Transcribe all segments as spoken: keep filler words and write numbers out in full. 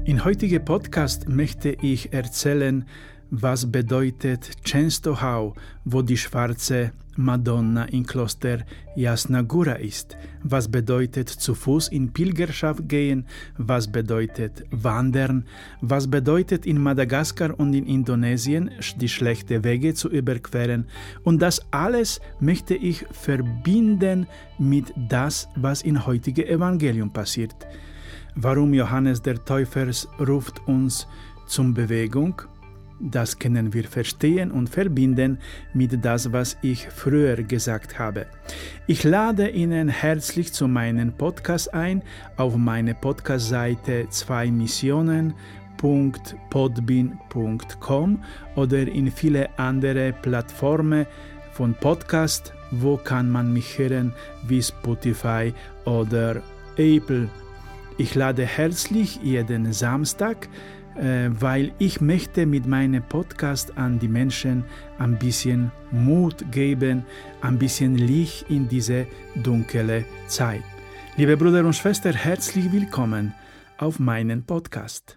In heutigen Podcast möchte ich erzählen, was bedeutet Częstochowa, wo die schwarze Madonna im Kloster Jasna Góra ist. Was bedeutet zu Fuß in Pilgerschaft gehen? Was bedeutet wandern? Was bedeutet in Madagaskar und in Indonesien die schlechten Wege zu überqueren? Und das alles möchte ich verbinden mit das, was im heutigen Evangelium passiert. Warum Johannes der Täufer ruft uns zur Bewegung? Das können wir verstehen und verbinden mit das, was ich früher gesagt habe. Ich lade Ihnen herzlich zu meinem Podcast ein auf meine Podcast-Seite zwei missionen punkt podbean punkt com oder in viele andere Plattformen von Podcast, wo kann man mich hören, wie Spotify oder Apple. Ich lade herzlich jeden Samstag, äh, weil ich möchte mit meinem Podcast an die Menschen ein bisschen Mut geben, ein bisschen Licht in diese dunkle Zeit. Liebe Brüder und Schwestern, herzlich willkommen auf meinem Podcast.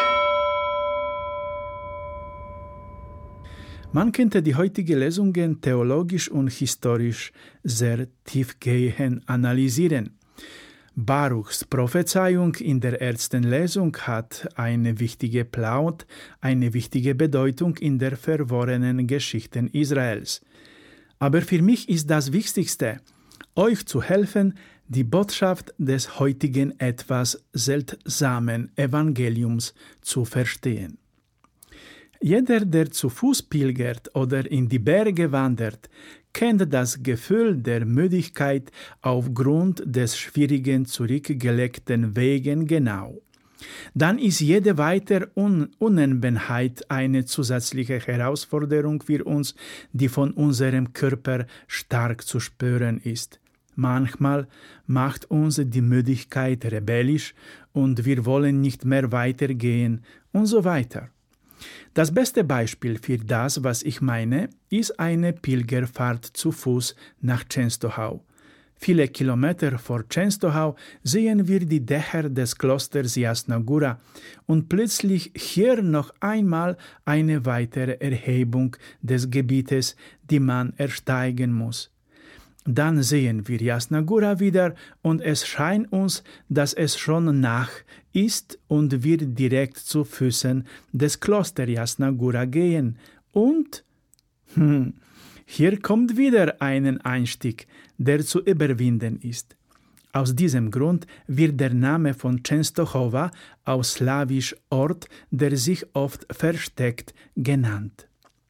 Man könnte die heutigen Lesungen theologisch und historisch sehr tiefgehend analysieren. Baruchs Prophezeiung in der ersten Lesung hat eine wichtige Plaut, eine wichtige Bedeutung in der verworrenen Geschichte Israels. Aber für mich ist das Wichtigste, euch zu helfen, die Botschaft des heutigen etwas seltsamen Evangeliums zu verstehen. Jeder, der zu Fuß pilgert oder in die Berge wandert, kennt das Gefühl der Müdigkeit aufgrund des schwierigen zurückgelegten Wegen genau. Dann ist jede weitere Un- Unebenheit eine zusätzliche Herausforderung für uns, die von unserem Körper stark zu spüren ist. Manchmal macht uns die Müdigkeit rebellisch und wir wollen nicht mehr weitergehen und so weiter. Das beste Beispiel für das, was ich meine, ist eine Pilgerfahrt zu Fuß nach Częstochowa. Viele Kilometer vor Częstochowa sehen wir die Dächer des Klosters Jasna Góra und plötzlich hier noch einmal eine weitere Erhebung des Gebietes, die man ersteigen muss. Dann sehen wir Jasna Góra wieder und es scheint uns, dass es schon Nacht ist und wir direkt zu Füßen des Klosters Jasna Góra gehen. Und hm, hier kommt wieder ein Einstieg, der zu überwinden ist. Aus diesem Grund wird der Name von Częstochowa aus slawisch Ort, der sich oft versteckt, genannt.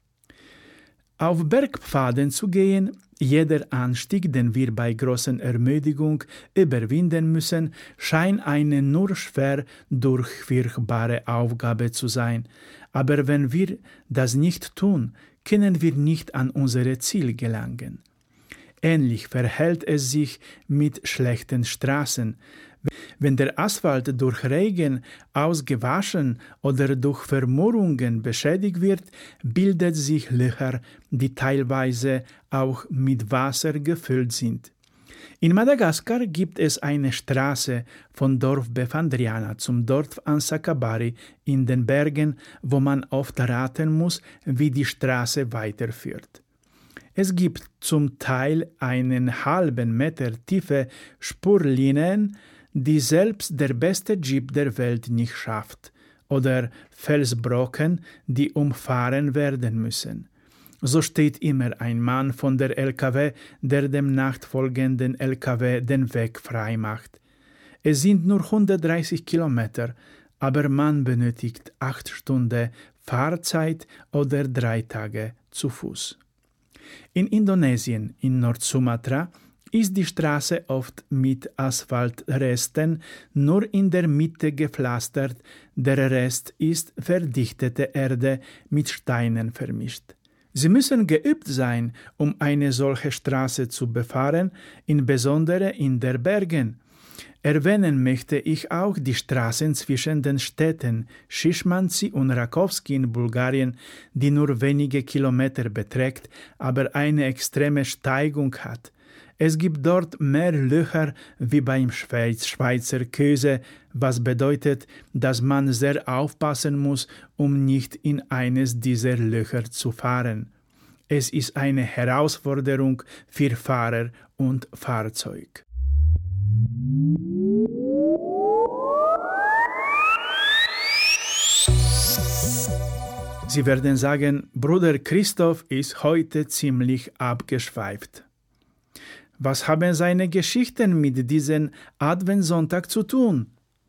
Auf Bergpfaden zu gehen, jeder Anstieg, den wir bei großer Ermüdung überwinden müssen, scheint eine nur schwer durchführbare Aufgabe zu sein. Aber wenn wir das nicht tun, können wir nicht an unser Ziel gelangen. Ähnlich verhält es sich mit schlechten Straßen. Wenn der Asphalt durch Regen ausgewaschen oder durch Vermurrungen beschädigt wird, bildet sich Löcher, die teilweise auch mit Wasser gefüllt sind. In Madagaskar gibt es eine Straße von Dorf Befandriana zum Dorf Ansakabari in den Bergen, wo man oft raten muss, wie die Straße weiterführt. Es gibt zum Teil einen halben Meter tiefe Spurlinien, die selbst der beste Jeep der Welt nicht schafft, oder Felsbrocken, die umfahren werden müssen. So steht immer ein Mann von der L K W, der dem nachfolgenden L K W den Weg frei macht. Es sind nur hundertdreißig Kilometer, aber man benötigt acht Stunden Fahrzeit oder drei Tage zu Fuß. In Indonesien, in Nordsumatra, ist die Straße oft mit Asphaltresten nur in der Mitte gepflastert, der Rest ist verdichtete Erde mit Steinen vermischt. Sie müssen geübt sein, um eine solche Straße zu befahren, insbesondere in den Bergen. Erwähnen möchte ich auch die Straßen zwischen den Städten Schischmanci und Rakowski in Bulgarien, die nur wenige Kilometer beträgt, aber eine extreme Steigung hat. Es gibt dort mehr Löcher wie beim Schweizer Käse, was bedeutet, dass man sehr aufpassen muss, um nicht in eines dieser Löcher zu fahren. Es ist eine Herausforderung für Fahrer und Fahrzeug. Sie werden sagen, Bruder Christoph ist heute ziemlich abgeschweift. Was haben seine Geschichten mit diesem Adventssonntag zu tun?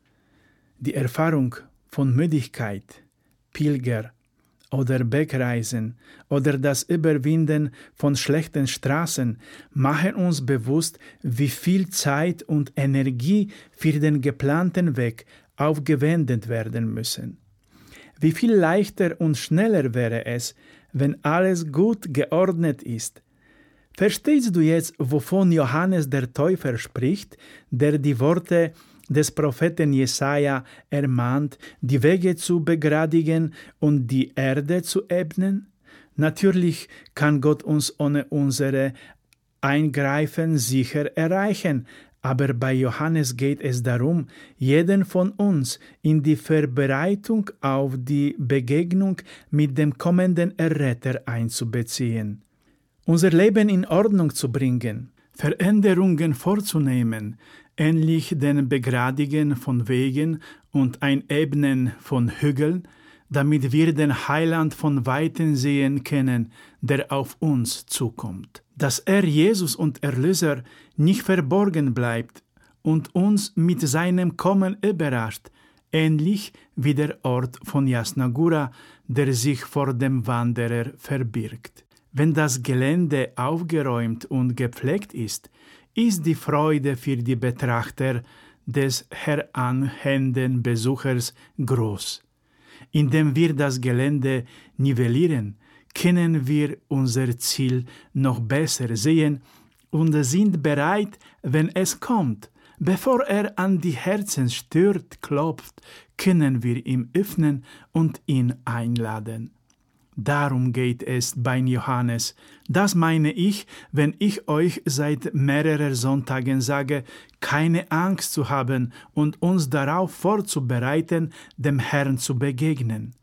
Die Erfahrung von Müdigkeit, Pilger oder Bergreisen oder das Überwinden von schlechten Straßen machen uns bewusst, wie viel Zeit und Energie für den geplanten Weg aufgewendet werden müssen. Wie viel leichter und schneller wäre es, wenn alles gut geordnet ist. Verstehst du jetzt, wovon Johannes der Täufer spricht, der die Worte des Propheten Jesaja ermahnt, die Wege zu begradigen und die Erde zu ebnen? Natürlich kann Gott uns ohne unsere Eingreifen sicher erreichen, aber bei Johannes geht es darum, jeden von uns in die Vorbereitung auf die Begegnung mit dem kommenden Erretter einzubeziehen. Unser Leben in Ordnung zu bringen, Veränderungen vorzunehmen, ähnlich den Begradigen von Wegen und Einebnen von Hügeln, damit wir den Heiland von Weitem sehen können, der auf uns zukommt. Dass er Jesus und Erlöser nicht verborgen bleibt und uns mit seinem Kommen überrascht, ähnlich wie der Ort von Jasna Gora, der sich vor dem Wanderer verbirgt. Wenn das Gelände aufgeräumt und gepflegt ist, ist die Freude für die Betrachter des heranhängenden Besuchers groß. Indem wir das Gelände nivellieren, können wir unser Ziel noch besser sehen und sind bereit, wenn es kommt. Bevor er an die Herzenstür klopft, können wir ihm öffnen und ihn einladen. Darum geht es bei Johannes. Das meine ich, wenn ich euch seit mehreren Sonntagen sage, keine Angst zu haben und uns darauf vorzubereiten, dem Herrn zu begegnen.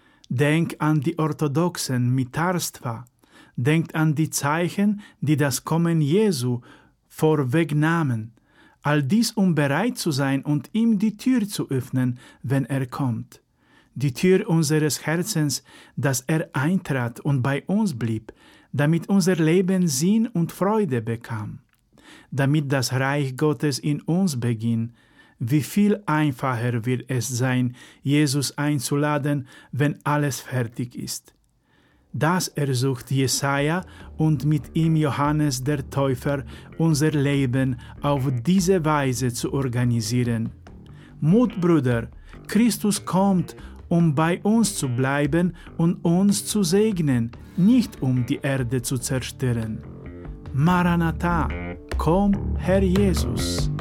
Denk an die Orthodoxen mit Tarstva. Denkt an die Zeichen, die das Kommen Jesu vorwegnahmen. All dies, um bereit zu sein und ihm die Tür zu öffnen, wenn er kommt. Die Tür unseres Herzens, dass er eintrat und bei uns blieb, damit unser Leben Sinn und Freude bekam, damit das Reich Gottes in uns beginnt. Wie viel einfacher wird es sein, Jesus einzuladen, wenn alles fertig ist. Das ersucht Jesaja und mit ihm Johannes der Täufer, unser Leben auf diese Weise zu organisieren. Mut, Brüder, Christus kommt, um bei uns zu bleiben und uns zu segnen, nicht um die Erde zu zerstören. Maranatha, komm, Herr Jesus!